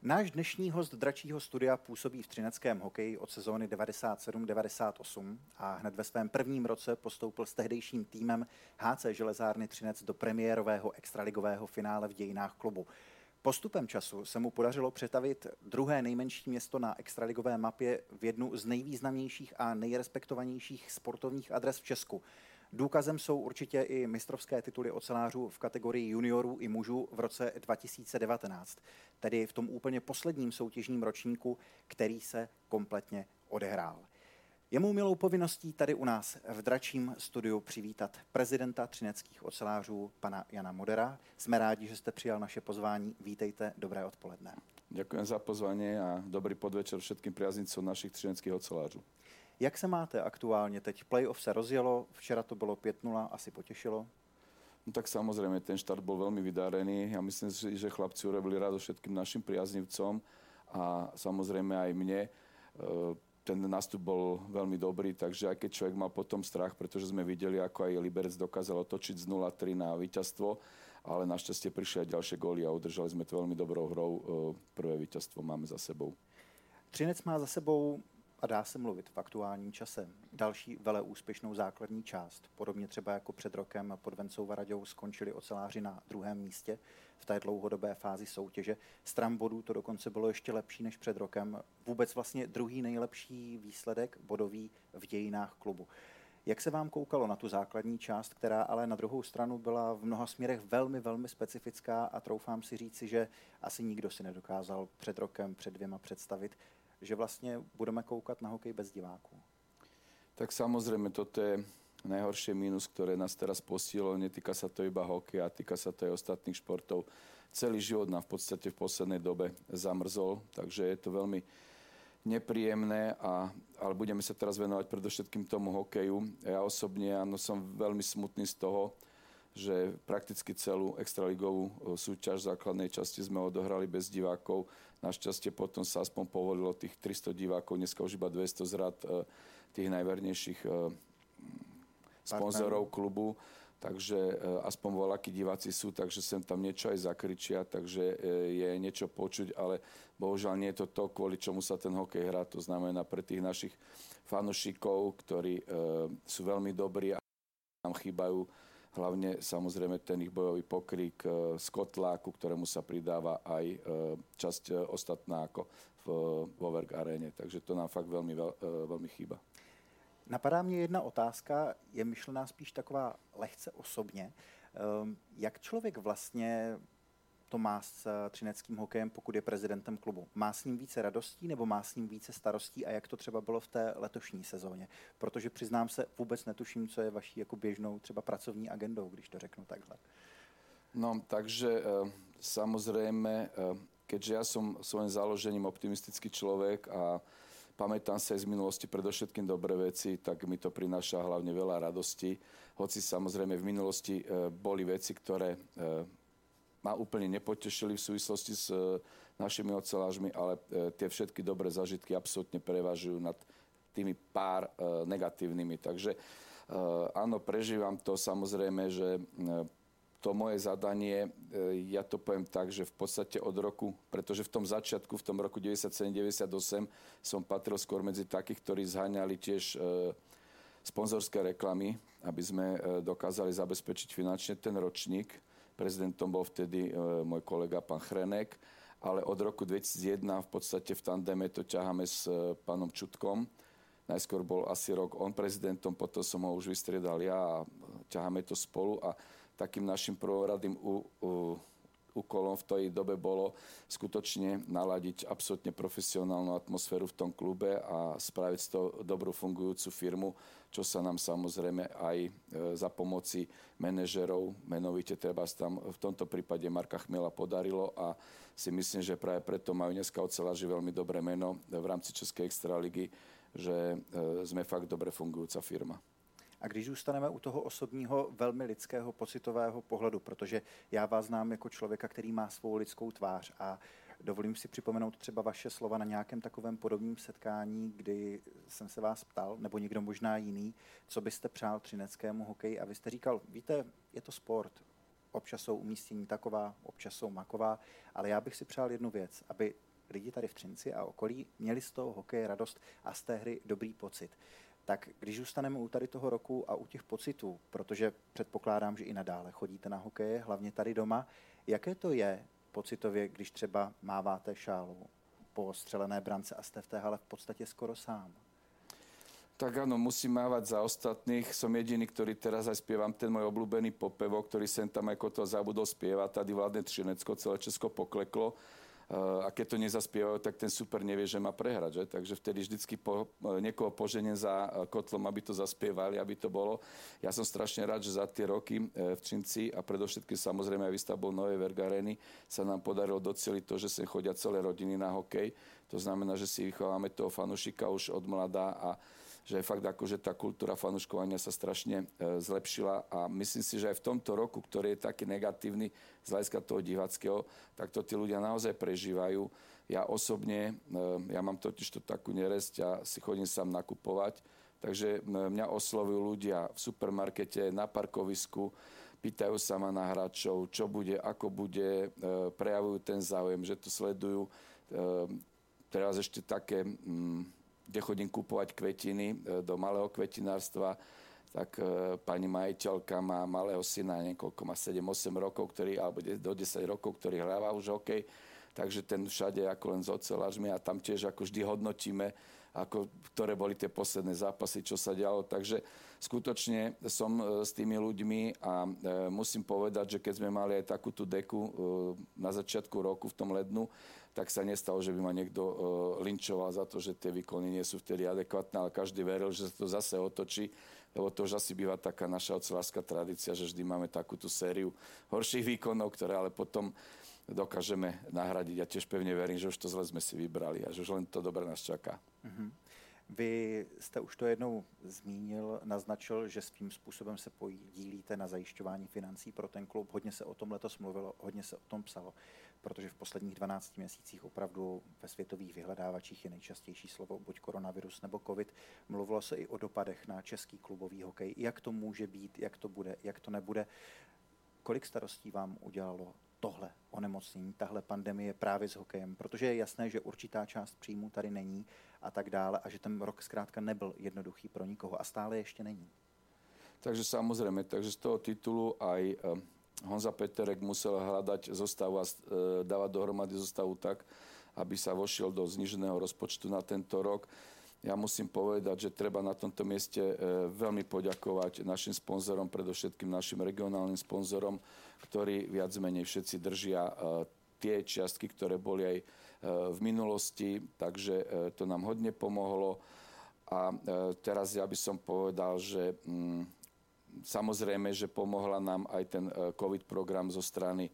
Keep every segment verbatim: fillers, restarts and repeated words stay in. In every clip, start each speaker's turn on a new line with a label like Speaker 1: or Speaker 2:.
Speaker 1: Náš dnešní host Dračího studia působí v třineckém hokeji od sezóny devadesát sedm devadesát osm a hned ve svém prvním roce postoupil s tehdejším týmem H C Železárny Třinec do premiérového extraligového finále v dějinách klubu. Postupem času se mu podařilo přetavit druhé nejmenší město na extraligové mapě v jednu z nejvýznamnějších a nejrespektovanějších sportovních adres v Česku. Důkazem jsou určitě i mistrovské tituly ocelářů v kategorii juniorů i mužů v roce dva tisíce devatenáct, tedy v tom úplně posledním soutěžním ročníku, který se kompletně odehrál. Je mou milou povinností tady u nás v Dračím studiu přivítat prezidenta třineckých ocelářů, pana Jana Modera. Jsme rádi, že jste přijal naše pozvání. Vítejte, dobré odpoledne.
Speaker 2: Ďakujem za pozvanie a dobrý podvečer všetkým priaznicom našich třineckých ocelářů.
Speaker 1: Jak se máte aktuálně teď? Playoff se rozjelo, včera to bylo päť nula, asi potěšilo?
Speaker 2: No tak samozrejme, ten štart bol veľmi vydarený. Ja myslím si, že chlapci urobili rado všetkým našim priaznivcom a samozrejme aj mne. Ten nástup bol veľmi dobrý, takže aj keď človek mal potom strach, pretože sme videli, ako aj Liberec dokázal otočiť z nula tri na víťazstvo, ale našťastie prišli aj ďalšie góly a udržali sme to veľmi dobrou hrou. Prvé víťazstvo máme za sebou.
Speaker 1: Třinec má za sebou, a dá se mluvit v aktuálním čase, další veleúspěšnou základní část. Podobně třeba jako před rokem pod Vencou Varaďou skončili oceláři na druhém místě v té dlouhodobé fázi soutěže. Stran bodů to dokonce bylo ještě lepší než před rokem. Vůbec vlastně druhý nejlepší výsledek bodový v dějinách klubu. Jak se vám koukalo na tu základní část, která ale na druhou stranu byla v mnoha směrech velmi, velmi specifická a troufám si říci, že asi nikdo si nedokázal před rokem, před dvěma představit, že vlastně budeme koukat na hokej bez diváků?
Speaker 2: Tak samozrejme, toto je najhoršie mínus, ktoré nás teraz postihlo. Netýka sa to iba hokeja, týka sa to aj ostatných športov. Celý život nám v podstate v poslednej dobe zamrzol, takže je to veľmi nepríjemné, a, ale budeme sa teraz venovať predovšetkým tomu hokeju. Ja osobne áno, som veľmi smutný z toho, že prakticky celú extraligovú súťaž v základnej časti sme odohrali bez divákov. Našťastie potom sa aspoň povolilo tých tristo divákov, dneska už iba dvesto z rad tých najvernejších sponzorov klubu. Takže aspoň voľakí diváci sú, takže sem tam niečo aj zakričia, takže je niečo počuť, ale bohužiaľ nie je to to, kvôli čomu sa ten hokej hrá. To znamená pre tých našich fanúšikov, ktorí sú veľmi dobrí a nám chýbajú hlavne samozrejme ten ich bojový pokrik z kotla, ku ktorému sa pridáva aj časť ostatná ako v Voverk aréne. Takže to nám fakt veľmi, veľmi chýba.
Speaker 1: Napadá mě jedna otázka, je myšlená spíš taková lehce osobně. Jak člověk vlastně to má s třineckým hokejem, pokud je prezidentem klubu? Má s ním více radostí nebo má s ním více starostí a jak to třeba bylo v té letošní sezóně? Protože přiznám se, vůbec netuším, co je vaší jako běžnou třeba pracovní agendou, když to řeknu takhle.
Speaker 2: No, takže samozrejme, keďže ja som svojím založením optimistický človek a pamätám sa aj z minulosti predovšetkým dobré veci, tak mi to prináša hlavne veľa radosti. Hoci samozrejme v minulosti boli veci, ktoré ma úplne nepotešili v súvislosti s našimi ocelářmi, ale tie všetky dobré zážitky absolútne prevažujú nad tými pár negatívnymi. Takže áno, prežívam to samozrejme, že to moje zadanie, ja to poviem tak, že v podstate od roku, pretože v tom začiatku, v tom roku deväťdesiatsedem deväťdesiatosem som patril skôr medzi takých, ktorí zháňali tiež sponzorské reklamy, aby sme dokázali zabezpečiť finančne ten ročník. Prezidentom bol vtedy môj kolega pán Chrenek, ale od roku dvetisícjeden v podstate v tandeme to ťaháme s pánom Čutkom. Najskôr bol asi rok on prezidentom, potom som ho už vystriedal ja a ťaháme to spolu a takým našim prvoradým u, u, úkolom v tej dobe bolo skutočne naladiť absolútne profesionálnu atmosféru v tom klube a spraviť z toho dobrú fungujúcu firmu, čo sa nám samozrejme aj za pomoci manažerov, menovite treba tam v tomto prípade Marka Chmiela podarilo a si myslím, že práve preto majú dneska oceláři veľmi dobré meno v rámci Českej extraligy, že sme fakt dobre fungujúca firma.
Speaker 1: A když zůstaneme u toho osobního, velmi lidského, pocitového pohledu, protože já vás znám jako člověka, který má svou lidskou tvář a dovolím si připomenout třeba vaše slova na nějakém takovém podobném setkání, kdy jsem se vás ptal, nebo někdo možná jiný, co byste přál třineckému hokeji a vy jste říkal, víte, je to sport, občas jsou umístění taková, občas jsou maková, ale já bych si přál jednu věc, aby lidi tady v Třinci a okolí měli z toho hokeje radost a z té hry dobrý pocit. Tak když zůstaneme u tady toho roku a u těch pocitů, protože předpokládám, že i nadále chodíte na hokeje, hlavně tady doma, jaké to je pocitově, když třeba máváte šálu po střelené brance a jste v té hale v podstatě skoro sám?
Speaker 2: Tak áno, musím mávať za ostatných. Som jediný, ktorý teraz aj spievam ten môj obľúbený popevok, ktorý sem tam ako to zabudol spievať. Tady vládne Třinecko, celé Česko pokleklo. A keď to nezaspievajú, tak ten super nevie, že má prehrať. Že? Takže vtedy vždycky po, niekoho poženiem za kotlom, aby to zaspievali, aby to bolo. Ja som strašne rád, že za tie roky v Třinci a predovšetkým samozrejme aj výstavbou Novej Vergareny sa nám podarilo doceliť to, že sem chodia celé rodiny na hokej. To znamená, že si vychováme toho fanúšika už od mladá a že je fakt ako, že tá kultúra fanúškovania sa strašne e, zlepšila a myslím si, že aj v tomto roku, ktorý je taký negatívny z hľadiska toho diváckého, tak to tí ľudia naozaj prežívajú. Ja osobne, e, ja mám totiž to takú neresť a si chodím sám nakupovať, takže mňa oslovujú ľudia v supermarkete, na parkovisku, pýtajú sa ma na hráčov, čo bude, ako bude, e, prejavujú ten záujem, že to sledujú. E, teraz ešte také... Mm, kde chodím kupovať kvetiny do malého kvetinárstva, tak e, pani majiteľka má malého syna, niekoľko má sedem osem rokov, ktorý, alebo do desať rokov, ktorý hráva už hokej, takže ten všade ako len s ocelářmi a tam tiež ako vždy hodnotíme, ako, ktoré boli tie posledné zápasy, čo sa dialo. Takže skutočne som s tými ľuďmi a e, musím povedať, že keď sme mali aj takú tú deku e, na začiatku roku v tom lednu, tak sa nestalo, že by ma niekto uh, linčoval za to, že tie výkony nie sú vtedy adekvátne, ale každý veril, že sa to zase otočí, lebo to už asi býva taká naša ocelárska tradícia, že vždy máme takúto sériu horších výkonov, ktoré ale potom dokážeme nahradiť. Ja tiež pevne verím, že už to zle sme si vybrali a že už len to dobre nás čaká. Mm-hmm.
Speaker 1: Vy jste už to jednou zmínil, naznačil, že svým způsobem se podílíte na zajišťování financí pro ten klub. Hodně se o tom letos mluvilo, hodně se o tom psalo, protože v posledních dvanácti měsících opravdu ve světových vyhledávačích je nejčastější slovo buď koronavirus nebo covid. Mluvilo se i o dopadech na český klubový hokej. Jak to může být, jak to bude, jak to nebude. Kolik starostí vám udělalo tohle onemocnění, tahle pandemie právě s hokejem, protože je jasné, že určitá část příjmů tady není a tak dále a že ten rok zkrátka nebyl jednoduchý pro nikoho a stále ještě není.
Speaker 2: Takže samozrejme, takže z toho titulu aj Honza Peterek musel hľadať zostavu a dávať dohromady zostavu tak, aby sa vošiel do zníženého rozpočtu na tento rok. Ja musím povedať, že treba na tomto mieste veľmi poďakovať našim sponzorom, predovšetkým našim regionálnym sponzorom, ktorí viac menej všetci držia tie čiastky, ktoré boli aj v minulosti, takže to nám hodne pomohlo. A teraz ja by som povedal, že mm, samozrejme, že pomohla nám aj ten COVID program zo strany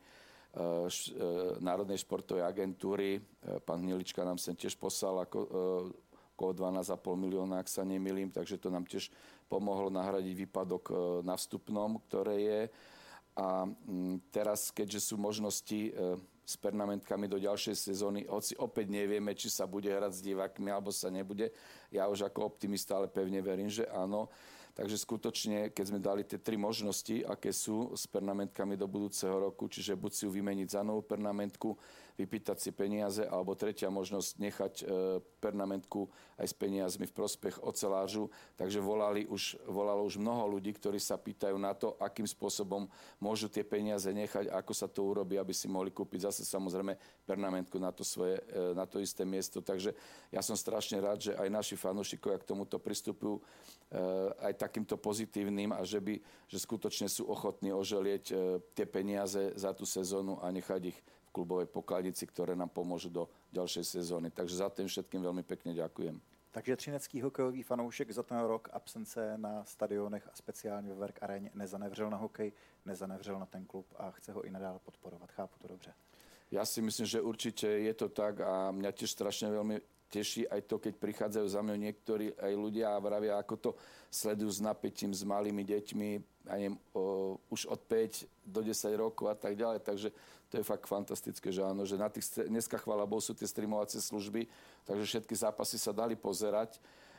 Speaker 2: Národnej športovej agentúry. Pán Hnilička nám sem tiež poslal ako okolo dvanásť a pol milióna, ak sa nemýlim, takže to nám tiež pomohlo nahradiť výpadok na vstupnom, ktoré je. A teraz, keďže sú možnosti s pernamentkami do ďalšej sezóny, hoci opäť nevieme, či sa bude hrať s divákmi, alebo sa nebude, ja už ako optimista, ale pevne verím, že áno. Takže skutočne, keď sme dali tie tri možnosti, aké sú s pernamentkami do budúceho roku, čiže buď si ju vymeniť za novú pernamentku, vypýtať si peniaze, alebo tretia možnosť nechať e, pernamentku aj s peniazmi v prospech ocelážu. Takže volali už, volalo už mnoho ľudí, ktorí sa pýtajú na to, akým spôsobom môžu tie peniaze nechať, ako sa to urobí, aby si mohli kúpiť zase samozrejme pernamentku na to, svoje, e, na to isté miesto. Takže ja som strašne rád, že aj naši fanúšikovia k tomuto pristupujú e, aj takýmto pozitívnym a že, by, že skutočne sú ochotní oželieť e, tie peniaze za tú sezónu a nechať ich v klubovej pokladnici, ktoré nám pomôžu do ďalšej sezóny. Takže za tým všetkým veľmi pekne ďakujem.
Speaker 1: Takže třinecký hokejový fanoušek za ten rok absence na stadionech a speciálně ve Verk Aréně nezanevřel na hokej, nezanevřel na ten klub a chce ho i nadále podporovat. Chápu to dobře?
Speaker 2: Ja si myslím, že určite je to tak a mňa tiež strašne veľmi teší aj to, keď prichádzajú za mňou niektorí aj ľudia a vravia, ako to sledujú s napätím, s malými deťmi, a neviem, o, už od päť do desať rokov a tak ďalej. Takže to je fakt fantastické, že áno, že na tých, dneska chvála Bohu sú tie streamovacie služby, takže všetky zápasy sa dali pozerať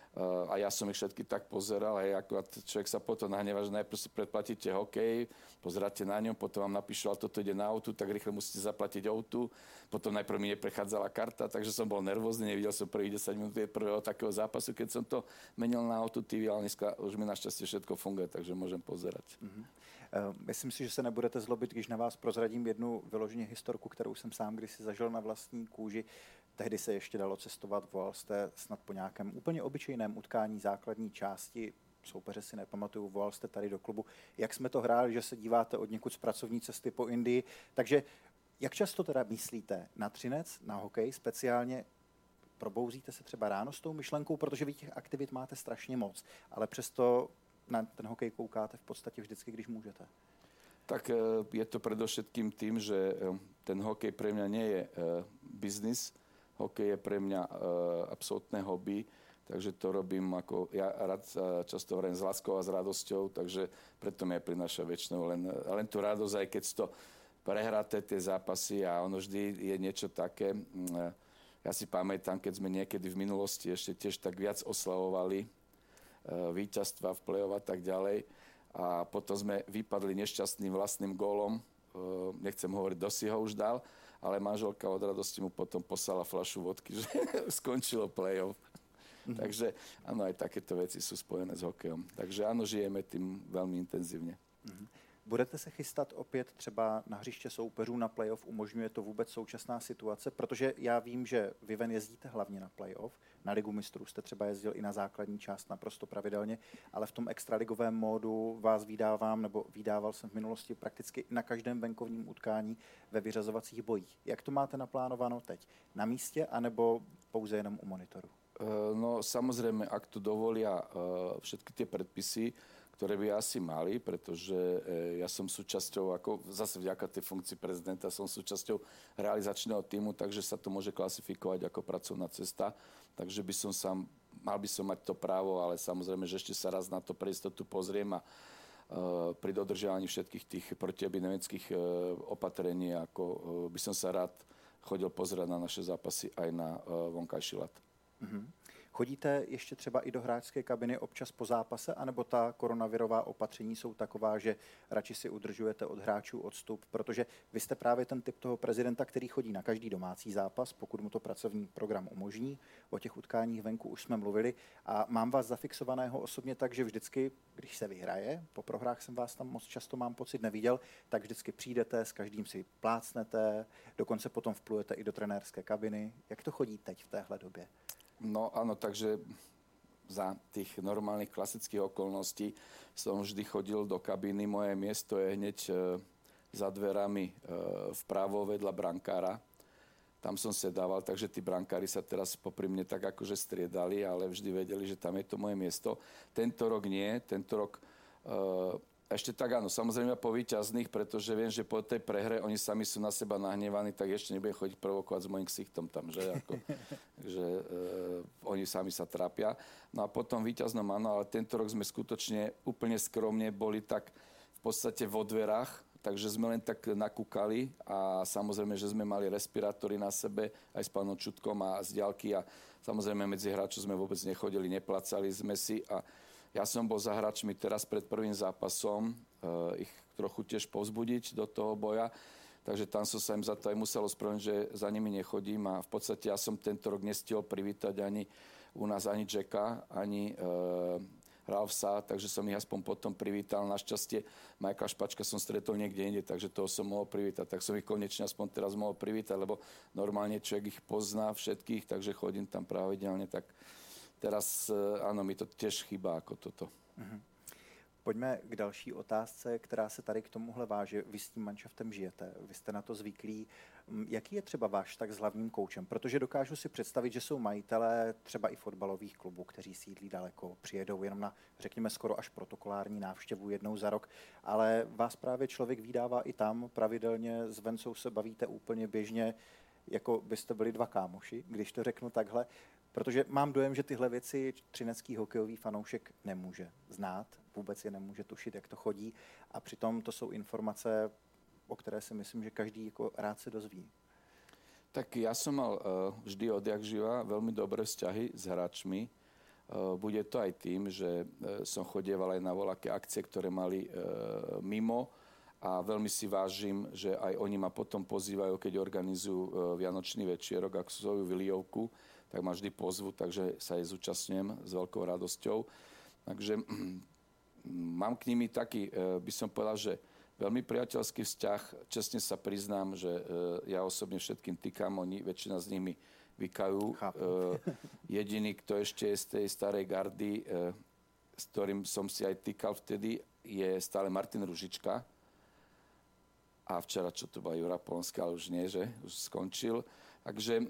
Speaker 2: a ja som ich všetky tak pozeral a akurát človek sa potom nahnevá, že najprv si predplatíte hokej, pozeráte na ňom, potom vám napíšu, ale toto ide na autu, tak rýchle musíte zaplatiť autu, potom najprv mi neprechádzala karta, takže som bol nervózny, nevidel som prvých desať minút prvého takého zápasu, keď som to menil na autu té vé, ale dneska už mi našťastie všetko funguje, takže môžem pozerať.
Speaker 1: Mm-hmm. Myslím si, že se nebudete zlobit, když na vás prozradím jednu vyloženě historku, kterou jsem sám kdysi zažil na vlastní kůži. Tehdy se ještě dalo cestovat, volal jste snad po nějakém úplně obyčejném utkání základní části, soupeře si nepamatuju, volal jste tady do klubu. Jak jsme to hráli, že se díváte od někud z pracovní cesty po Indii. Takže jak často teda myslíte na Třinec, na hokej speciálně? Probouzíte se třeba ráno s tou myšlenkou, protože vy těch aktivit máte strašně moc, ale přesto na ten hokej koukáte v podstatě vždycky, když můžete?
Speaker 2: Tak je to predovšetkým tým, že ten hokej pre mňa nie je biznis. Hokej je pre mňa absolútne hobby, takže to robím ako, ja rád často hovorím s láskou a s radosťou, takže preto mi aj prináša väčšinou len, len tú radosť, aj keď to prehráte tie zápasy a ono vždy je niečo také. Ja si pamätám, keď sme niekedy v minulosti ešte tiež tak viac oslavovali víťazstva v play-off a tak ďalej. A potom sme vypadli nešťastným vlastným gólom. Nechcem hovoriť, kto si ho už dal, ale manželka od radosti mu potom poslala fľašu vodky, že skončilo play-off. Mm-hmm. Takže áno, aj takéto veci sú spojené s hokejom. Takže áno, žijeme tým veľmi intenzívne.
Speaker 1: Mm-hmm. Budete se chystat opět třeba na hřiště soupeřů na playoff? Umožňuje to vůbec současná situace? Protože já vím, že vy ven jezdíte hlavně na playoff. Na Ligu mistrů jste třeba jezdil i na základní část naprosto pravidelně, ale v tom extraligovém módu vás vydávám, nebo vydával jsem v minulosti prakticky na každém venkovním utkání ve vyřazovacích bojích. Jak to máte naplánováno teď? Na místě, anebo pouze jenom u monitoru?
Speaker 2: No samozrejme, ak to dovolia všetky tie predpisy, ktoré by asi mali, pretože ja som súčasťou, ako zase vďaka tej funkcii prezidenta, som súčasťou realizačného týmu, takže sa to môže klasifikovať ako pracovná cesta. Takže by som sa, mal by som mať to právo, ale samozrejme, že ešte sa raz na to pre istotu pozriem a uh, pri dodržiavaní všetkých tých protiepidemických uh, opatrení, ako uh, by som sa rád chodil pozerať na naše zápasy aj na uh, vonkajší ľad.
Speaker 1: Mm-hmm. Chodíte ještě třeba i do hráčské kabiny občas po zápase, anebo ta koronavirová opatření jsou taková, že radši si udržujete od hráčů odstup, protože vy jste právě ten typ toho prezidenta, který chodí na každý domácí zápas, pokud mu to pracovní program umožní. O těch utkáních venku už jsme mluvili a mám vás zafixovaného osobně tak, že vždycky, když se vyhraje, po prohrách jsem vás tam moc často, mám pocit, neviděl, tak vždycky přijdete, s každým si plácnete, dokonce potom vplujete i do trenérské kabiny. Jak to chodí teď v téhle době?
Speaker 2: No áno, takže za tých normálnych klasických okolností som vždy chodil do kabíny. Moje miesto je hneď e, za dverami e, vpravo vedľa brankára. Tam som sedával, takže tí brankári sa teraz popri mne tak akože striedali, ale vždy vedeli, že tam je to moje miesto. Tento rok nie, tento rok e, ešte tak áno, samozrejme po víťazných, pretože viem, že po tej prehre oni sami sú na seba nahnevaní, tak ešte nebudem chodiť provokovať s mojím ksichtom tam, že, ako, že e, oni sami sa trápia. No a potom víťaznom áno, ale tento rok sme skutočne úplne skromne boli tak v podstate vo dverách, takže sme len tak nakúkali a samozrejme, že sme mali respirátory na sebe aj s pánom Čutkom a z diaľky a samozrejme medzi hráčov sme vôbec nechodili, neplacali sme si a ja som bol za hráčmi teraz pred prvým zápasom, e, ich trochu tiež povzbudiť do toho boja, takže tam som sa im za to aj musel ospravedlniť, že za nimi nechodím a v podstate ja som tento rok nestihol privítať ani u nás ani Jacka, ani e, Ralfsa, takže som ich aspoň potom privítal. Našťastie Michaela Špačka som stretol niekde inde, takže toho som mohol privítať. Tak som ich konečne aspoň teraz mohol privítať, lebo normálne človek ich pozná všetkých, takže chodím tam pravidelne, tak teraz, áno, mi to tiež chýba ako toto.
Speaker 1: Mm-hmm. Pojďme k další otázce, která se tady k tomuhle váže. Vy s tím manšaftem žijete, vy jste na to zvyklí. Jaký je třeba váš tak s hlavním koučem? Protože dokážu si představit, že jsou majitelé třeba i fotbalových klubů, kteří sídlí daleko, přijedou jenom na, řekněme, skoro až protokolární návštěvu jednou za rok, ale vás právě člověk vydává i tam, pravidelně s Vencou se bavíte úplně běžně, jako byste byli dva kámoši, když to řeknu takhle. Protože mám dojem, že tyhle věci třinecký hokejový fanoušek nemůže znát, vůbec je nemůže tušit, jak to chodí a přitom to jsou informace, o které si myslím, že každý jako rád se dozví.
Speaker 2: Tak ja som mal uh, vždy odjak živa veľmi dobré vzťahy s hráčmi bude to aj tým, že som chodieval aj na voľaké akcie, ktoré mali mimo a veľmi si vážim, že aj oni ma potom pozývajú, keď organizujú Vianočný večierok, ak svoju vylievku, tak ma vždy pozvu, takže sa aj zúčastňujem s veľkou radosťou. Takže mám k nimi taký, by som povedal, že veľmi priateľský vzťah. Čestne sa priznám, že ja osobne všetkým týkam, oni, väčšina z nimi vykajú. Jediný, kto ešte je z tej starej gardy, s ktorým som si aj týkal vtedy, je stále Martin Ružička. A včera, čo tu bola Jura Polonská, ale už nie, že už skončil. Takže,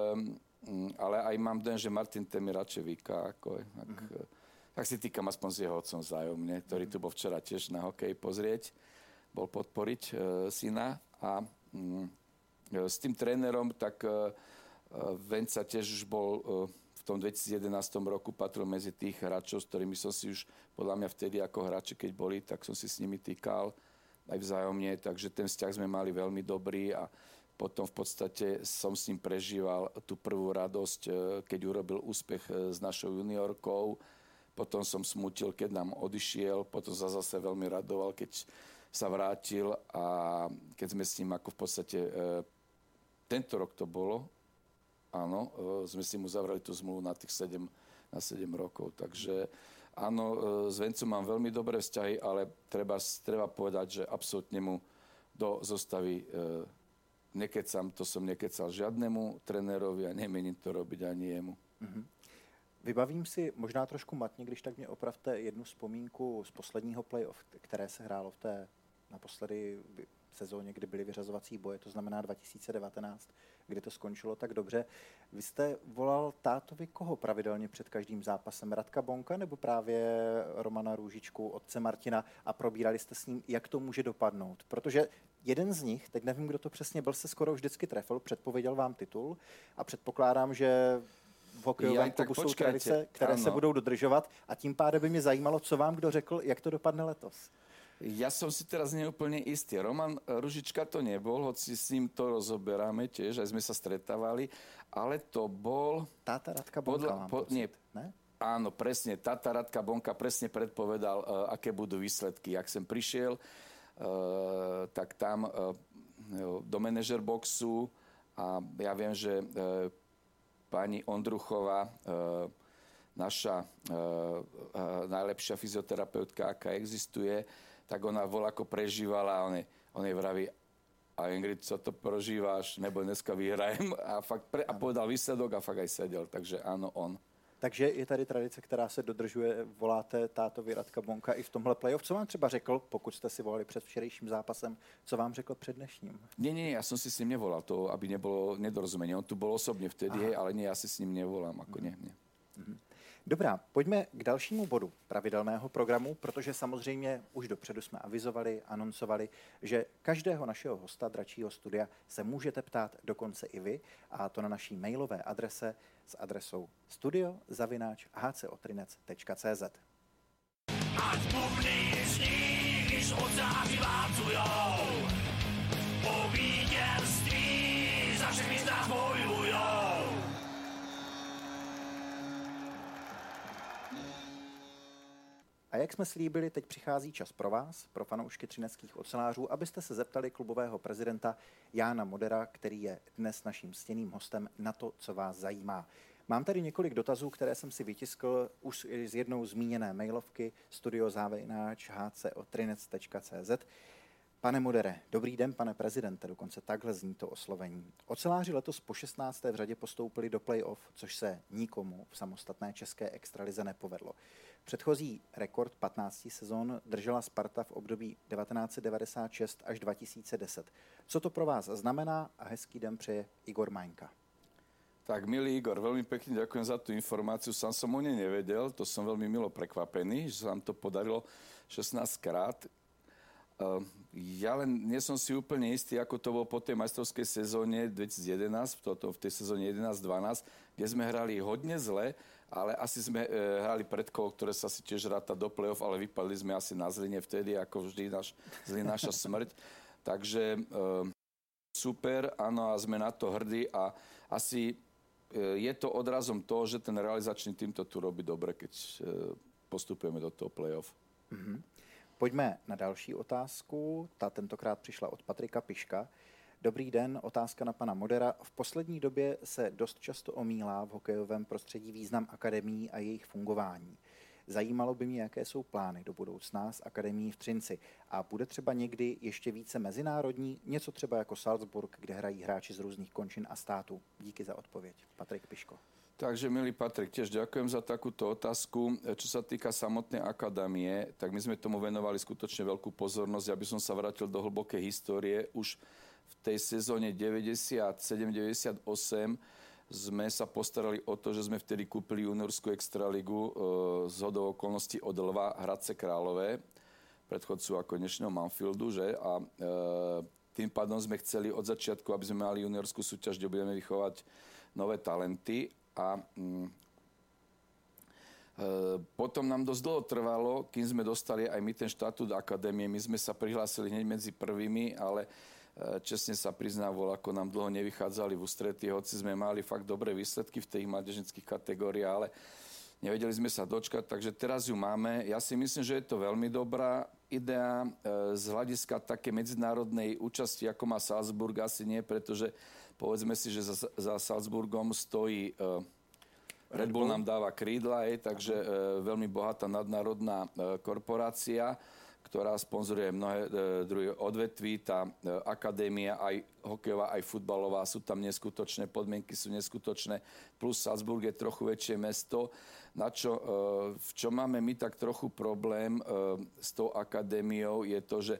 Speaker 2: ale aj mám den, že Martin Temi radšej vyká, ako je. Tak, mm-hmm. tak si týkam aspoň s jeho otcom vzájomne, ktorý tu bol včera tiež na hokej pozrieť. Bol podporiť e, syna a mm, e, s tým trénerom, tak e, Venca tiež už bol e, v tom dvetisícjedenástom roku patril medzi tých hráčov, s ktorými som si už, podľa mňa vtedy ako hráči, keď boli, tak som si s nimi týkal aj vzájomne, takže ten vzťah sme mali veľmi dobrý a potom v podstate som s ním prežíval tú prvú radosť, e, keď urobil úspech e, s našou juniorkou. Potom som smutil, keď nám odišiel, potom sa zase veľmi radoval, keď sa vrátil a keď sme s ním ako v podstate, e, tento rok to bolo, áno, e, sme si mu zavrali tú zmluvu na tých sedem, na sedem rokov. Takže áno, e, s Vencom mám veľmi dobré vzťahy, ale treba, treba povedať, že absolútne mu do zostavy e, nekecam, to som nekecal žiadnemu trenérovi a nemením to robiť ani jemu.
Speaker 1: Mm-hmm. Vybavím si možná trošku matně, když tak mě opravte jednu vzpomínku z posledního playoff, které se hrálo v té naposledy sezóně, kdy byly vyřazovací boje, to znamená dva tisíce devatenáct, kdy to skončilo tak dobře. Vy jste volal tátovi koho pravidelně před každým zápasem? Radka Bonka nebo právě Romana Růžičku, otce Martina, a probírali jste s ním, jak to může dopadnout? Protože jeden z nich, teď nevím, kdo to přesně byl, se skoro vždycky trefil, předpověděl vám titul a předpokládám, že v hokejovém klubu jsou tradice, které ano. se budou dodržovat a tím pádem by mě zajímalo, co vám kdo řekl, jak to dopadne letos.
Speaker 2: Ja som si teraz neúplne istý. Roman Ružička to nebol, hoci s ním to rozoberáme tiež, aj sme sa stretávali, ale to bol...
Speaker 1: Táta Radka Bonka, podľa, mám po, pocit, nie, ne?
Speaker 2: Áno, presne. Táta Radka Bonka presne predpovedal, uh, aké budú výsledky. Jak som prišiel, uh, tak tam uh, do manažer boxu a ja viem, že uh, pani Ondruchová, uh, naša uh, uh, najlepšia fyzioterapeutka, aká existuje, tak ona voľako prežívala a on jej, on jej vraví, a Ingrid, co to prožíváš, nebo dneska vyhrajem, a, fakt pre, a povedal výsledok a fakt aj sedel, takže áno, on.
Speaker 1: Takže je tady tradice, která se dodržuje, voláte tátovi Radka Bonka i v tomhle playoff. Co vám třeba řekl, pokud jste si volali před včerejším zápasem, co vám řekl před dnešním?
Speaker 2: Nie, nie, ja som si s ním nevolal, to, aby nebolo nedorozumenie. On tu bol osobne vtedy, hej, ale nie, ja si s ním nevolám, ako nie, nie.
Speaker 1: Mm-hmm. Dobrá, pojďme k dalšímu bodu pravidelného programu, protože samozřejmě už dopředu jsme avizovali, anoncovali, že každého našeho hosta Dračího studia se můžete ptát dokonce i vy, a to na naší mailové adrese s adresou studio zavináč h c otrinec tečka c z. Ať bubny zní, když oceány válcujou, po vítězství za všechny z nás bojujou. A jak jsme slíbili, teď přichází čas pro vás, pro fanoušky třineckých ocelářů, abyste se zeptali klubového prezidenta Jána Modera, který je dnes naším ctěným hostem, na to, co vás zajímá. Mám tady několik dotazů, které jsem si vytiskl už z jednou zmíněné mailovky studio zavináč h c otrinec tečka c z. Pane Modere, dobrý den, pane prezidente, dokonce takhle zní to oslovení. Oceláři letos po šestnácté v řadě postoupili do play-off, což se nikomu v samostatné české extralize nepovedlo. Předchozí rekord patnácti sezon držela Sparta v období devatenáct devadesát šest až dva tisíce deset. Co to pro vás znamená a hezký den přeje Igor Maňka.
Speaker 2: Tak, milý Igor, veľmi pekne ďakujem za tú informáciu. Sám som o nej nevedel, to som veľmi milo prekvapený, že sa nám to podarilo šestnásť krát. Uh, ja len nie som si úplne istý, ako to bolo po tej majstrovskej sezóne dvetisíc jedenásť, v, v tej sezóne jedenásť dvanásť, kde sme hrali hodne zle, ale asi sme e, hrali predkolo, ktoré sa si tiež ráta do play-off, ale vypadli sme asi na Zline vtedy, ako vždy naš, zlý naša smrť. Takže e, super, áno, a sme na to hrdí a asi je to odrazom toho, že ten realizačný tým to tu robí dobre, keď postupujeme do toho play-off.
Speaker 1: Mm-hmm. Pojďme na další otázku. Ta tentokrát přišla od Patrika Piška. Dobrý den, otázka na pana Modera. V poslední době se dost často omílá v hokejovém prostředí význam akademií a jejich fungování. Zajímalo by mě, jaké jsou plány do budoucna s akademií v Třinci. A bude třeba někdy ještě více mezinárodní, něco třeba jako Salzburg, kde hrají hráči z různých končin a států. Díky za odpověď. Patrik Piško.
Speaker 2: Takže, milý Patrik, tiež ďakujem za takúto otázku. Čo sa týka samotnej akadémie, tak my sme tomu venovali skutočne veľkú pozornosť. Ja by som sa vrátil do hlbokej histórie. Už v tej sezóne deväťdesiatsedem deväťdesiatosem sme sa postarali o to, že sme vtedy kúpili juniorskú extraligu e, z hodou okolností od Lva Hradce Králové, predchodcu ako dnešného Manfieldu, že? A e, tým pádom sme chceli od začiatku, aby sme mali juniorskú súťaž, kde budeme vychovať nové talenty. A mm, e, potom nám dosť dlho trvalo, kým sme dostali aj my ten štatút akadémie. My sme sa prihlásili hneď medzi prvými, ale e, čestne sa priznám, ako nám dlho nevychádzali v ústretí, hoci sme mali fakt dobré výsledky v tých mládežnických kategóriách, ale nevedeli sme sa dočkať, takže teraz ju máme. Ja si myslím, že je to veľmi dobrá idea. E, z hľadiska také medzinárodnej účasti, ako má Salzburg, asi nie, pretože povedzme si, že za, za Salzburgom stojí uh, Red Bull nám dáva krídla, hej, takže uh, veľmi bohatá nadnárodná uh, korporácia, ktorá sponzoruje mnohé uh, druhé odvetví. Tá uh, akadémia, aj hokejová, aj futbalová, sú tam neskutočné, podmienky sú neskutočné, plus Salzburg je trochu väčšie mesto. Na čo, uh, v čom máme my tak trochu problém uh, s tou akadémiou, je to, že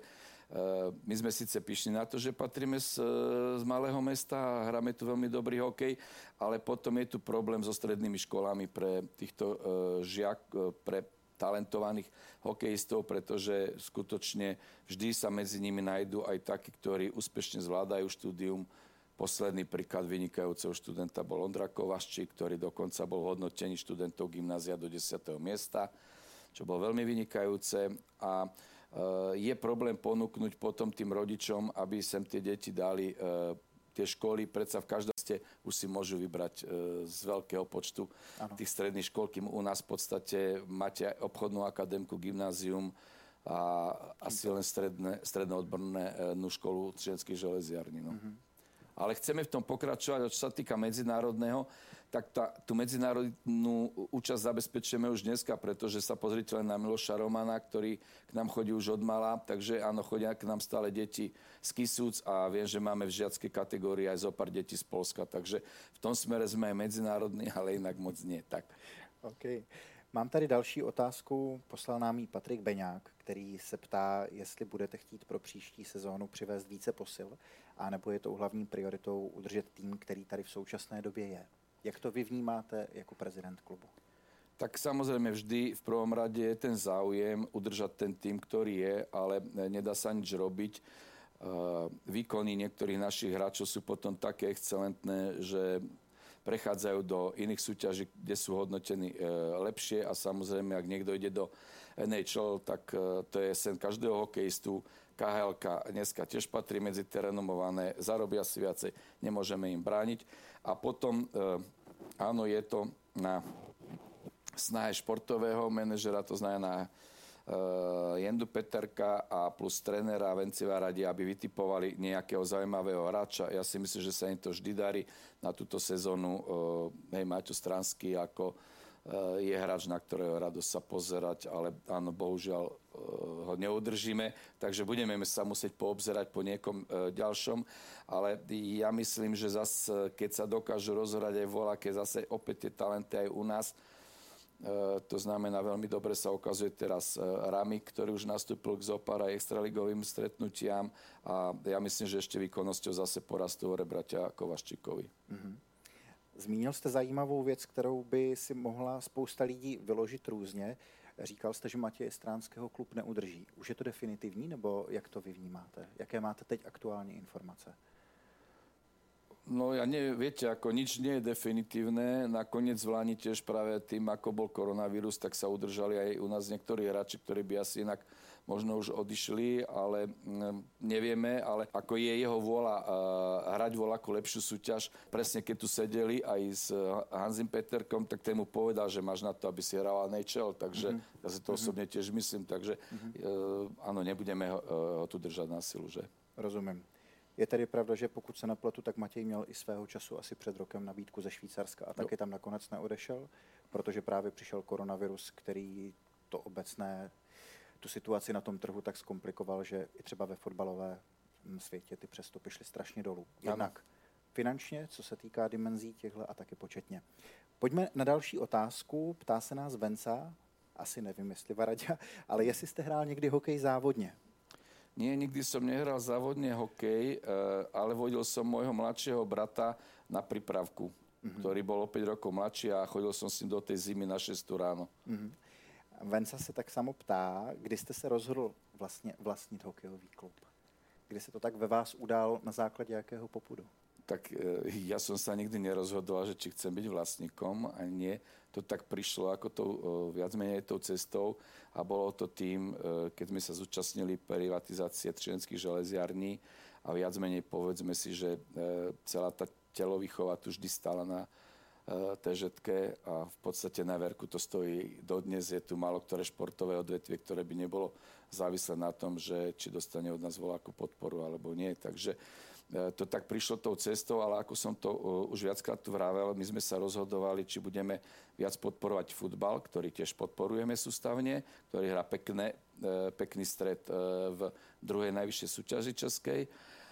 Speaker 2: my sme síce pyšní na to, že patríme z, z malého mesta a hráme tu veľmi dobrý hokej, ale potom je tu problém so strednými školami pre týchto žiak, pre talentovaných hokejistov, pretože skutočne vždy sa medzi nimi nájdú aj takí, ktorí úspešne zvládajú štúdium. Posledný príklad vynikajúceho študenta bol Ondra Kovaščík, ktorý dokonca bol v hodnotení študentov gymnázia do desiateho miesta, čo bolo veľmi vynikajúce. A je problém ponúknuť potom tým rodičom, aby sem tie deti dali e, tie školy. Predsa v každom ste už si môžu vybrať e, z veľkého počtu ano. Tých stredných škôl, kým u nás v podstate máte aj obchodnú akadémku, gymnázium a asi len stredné, stredné odbornú školu Třineckých železiarní. No. Mm-hmm. Ale chceme v tom pokračovať, a čo sa týka medzinárodného, tak tá, tú medzinárodnú účasť zabezpečujeme už dneska, pretože sa pozrite len na Miloša Romana, ktorý k nám chodí už od mala, takže áno, chodia k nám stále deti z Kisúc a viem, že máme v žiackej kategórii aj zo pár detí z Polska, takže v tom smere sme aj medzinárodní, ale inak moc nie. Tak.
Speaker 1: OK. Mám tady další otázku, poslal nám ji Patrik Beňák, který se ptá, jestli budete chtít pro příští sezónu přivést více posil, anebo je tou hlavní prioritou udržet tým, který tady v současné době je. Jak to vy vnímáte jako prezident klubu?
Speaker 2: Tak samozrejme vždy v prvom rade je ten záujem udržať ten tým, ktorý je, ale nedá sa nič robiť. Výkony niektorých našich hráčov sú potom také excelentné, že prechádzajú do iných súťaží, kde sú hodnotení lepšie a samozrejme, ak niekto ide do en há el, tak to je sen každého hokejistu. ká há elka dneska tiež patrí medzi tie renomované, zarobia si viacej, nemôžeme im brániť. A potom, áno, je to na snahe športového manažera, to znamená uh, Jendu Peterka a plus trénera Venciva radi, aby vytipovali nejakého zaujímavého hráča. Ja si myslím, že sa im to vždy darí. Na túto sezónu uh, hej, Maťo Stranský ako uh, je hráč, na ktorého radosť sa pozerať, ale áno, bohužiaľ uh, ho neudržíme, takže budeme sa musieť poobzerať po niekom uh, ďalšom. Ale ja myslím, že zase, keď sa dokážu rozhrať aj voľaké, zase opäť tie talenty aj u nás. Uh, to znamená, veľmi dobre sa ukazuje teraz uh, Ramik, ktorý už nastúpil k zopár aj extraligovým stretnutiam a ja myslím, že ešte výkonnosťou zase porastú hore bratia Kovaščíkovi. Mm-hmm.
Speaker 1: Zmínil jste zajímavou věc, kterou by si mohla spousta lidí vyložit různě. Říkal jste, že Matěje Stránského klub neudrží. Už je to definitivní, nebo jak to vy vnímáte? Jaké máte teď aktuální informace?
Speaker 2: No ja nie, viete, ako nič nie je definitívne. Nakoniec v Lani tiež práve tým, ako bol koronavírus, tak sa udržali aj u nás niektorí hráči, ktorí by asi inak možno už odišli, ale nevieme, ale ako je jeho vôľa uh, hrať voľakú lepšiu súťaž. Presne keď tu sedeli aj s Hansim Peterkom, tak ten mu povedal, že máš na to, aby si hral en há el, takže mm-hmm. ja si to osobne tiež myslím, takže mm-hmm. uh, áno, nebudeme ho, uh, ho tu držať na silu, že?
Speaker 1: Rozumím. Je tedy pravda, že pokud se napletu, tak Matěj měl i svého času asi před rokem nabídku ze Švýcarska a taky tam nakonec neodešel, protože právě přišel koronavirus, který to obecné, tu situaci na tom trhu tak zkomplikoval, že i třeba ve fotbalové světě ty přestupy šly strašně dolů. Jednak finančně, co se týká dimenzí těchto a taky početně. Pojďme na další otázku. Ptá se nás Venca, asi nevím, jestli Varaďa, ale jestli jste hrál někdy hokej závodně.
Speaker 2: Nie, nikdy som nehral závodne hokej, ale vodil som môjho mladšieho brata na prípravku, mm-hmm. ktorý bol o päť rokov mladší a chodil som s ním do tej zimy na šesť ráno. Mm-hmm.
Speaker 1: Venca se tak samo ptá, kdy jste se rozhodl vlastně vlastnit hokejový klub? Kdy se to tak ve vás udál, na základě jakého popudu?
Speaker 2: Tak ja som sa nikdy nerozhodoval, že či chcem byť vlastníkom, a nie. To tak prišlo ako tou, viac menej tou cestou a bolo to tým, keď sme sa zúčastnili privatizácie Třineckých železiarní a viac menej povedzme si, že celá tá telovýchova tu vždy stála na té žetke a v podstate na verku to stojí dodnes. Je tu málo ktoré športové odvetvie, ktoré by nebolo závislé na tom, že či dostane od nás voľakú podporu alebo nie. Takže to tak prišlo tou cestou, ale ako som to uh, už viackrát tu vravel, my sme sa rozhodovali, či budeme viac podporovať futbal, ktorý tiež podporujeme sústavne, ktorý hrá pekné, uh, pekný stred uh, v druhej najvyššej súťaži českej.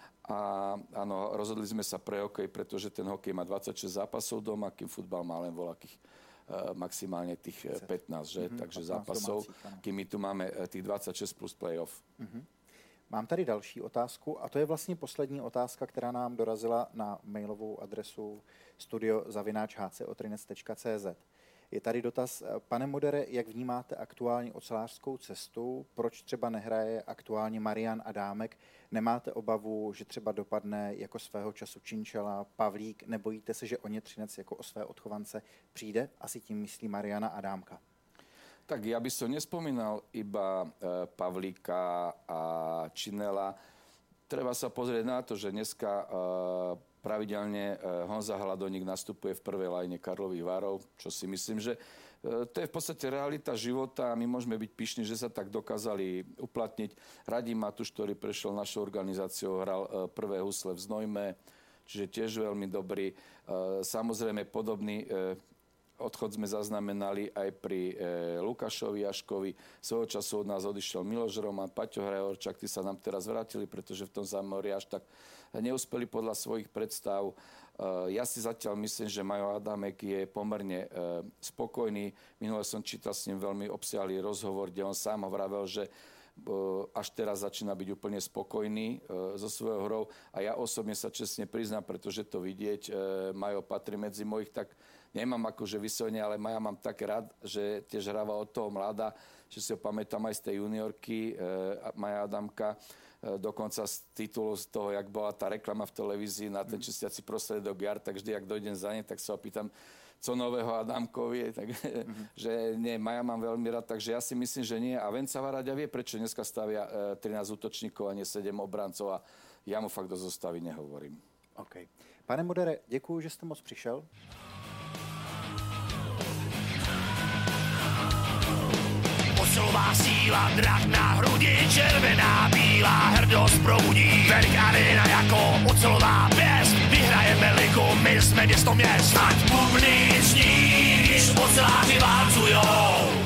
Speaker 2: A áno, rozhodli sme sa pre hokej, pretože ten hokej má dvadsaťšesť zápasov doma, kým futbal má len voľakých uh, maximálne tých pätnásť, že? Mm-hmm, takže zápasov, domácich, kým my tu máme uh, tých dvadsaťšesť plus playoff. Mm-hmm.
Speaker 1: Mám tady další otázku a to je vlastně poslední otázka, která nám dorazila na mailovou adresu studio zavináč h c otrinec tečka c z. Je tady dotaz, pane Modere, jak vnímáte aktuální ocelářskou cestu? Proč třeba nehraje aktuálně Marian Adámek? Nemáte obavu, že třeba dopadne jako svého času Činčela, Pavlík? Nebojíte se, že o ně Třinec jako o své odchovance přijde? Asi tím myslí Mariana Adámka.
Speaker 2: Tak ja by som nespomínal iba e, Pavlíka a Činela. Treba sa pozrieť na to, že dneska e, pravidelne e, Honza Hladoník nastupuje v prvej lajne Karlových Varov, čo si myslím, že e, to je v podstate realita života a my môžeme byť pyšní, že sa tak dokázali uplatniť. Radim Matuš, ktorý prešiel našou organizáciou, hral e, prvé husle v Znojme, čiže tiež veľmi dobrý. E, samozrejme podobný e, odchod sme zaznamenali aj pri e, Lukášovi Jaškovi. Svojho času od nás odišiel Miloš Roman, Paťo Hrajorčák, tí sa nám teraz vrátili, pretože v tom zámori až tak neúspeli podľa svojich predstav. E, ja si zatiaľ myslím, že Majo Adámek je pomerne e, spokojný. Minule som čítal s ním veľmi obsiahlý rozhovor, kde on sám vravel, že až teraz začína byť úplne spokojný e, so svojou hrou a ja osobne sa čestne priznám, pretože to vidieť, e, Majo patrí medzi mojich, tak nemám akože vyslovene, ale Maja mám tak rád, že tiež hráva od toho mladá, že si ho pamätám aj z tej juniorky e, Maja Adamka, e, dokonca z titulu z toho, jak bola tá reklama v televízii na ten čistiaci prostriedok Jar, tak vždy, jak dojdem za ne, tak sa opýtam, co nového Adamkovi, tak, mm-hmm. že nie, Maja mám veľmi rád, takže ja si myslím, že nie. A Venca Varaďa vie, prečo dneska stavia e, trinásť útočníkov a nie sedem obrancov a ja mu fakt do zostavy nehovorím.
Speaker 1: OK. Pane Modere, děkuju, že jste moc přišel.
Speaker 3: Osilová síla, drak na hrudi, červená, bílá, hrdost probudí. Velik arena jako ocelová pěst, vyhrajeme ligu, my jsme město měst. Ať bubny zní, když oceláři válcujou.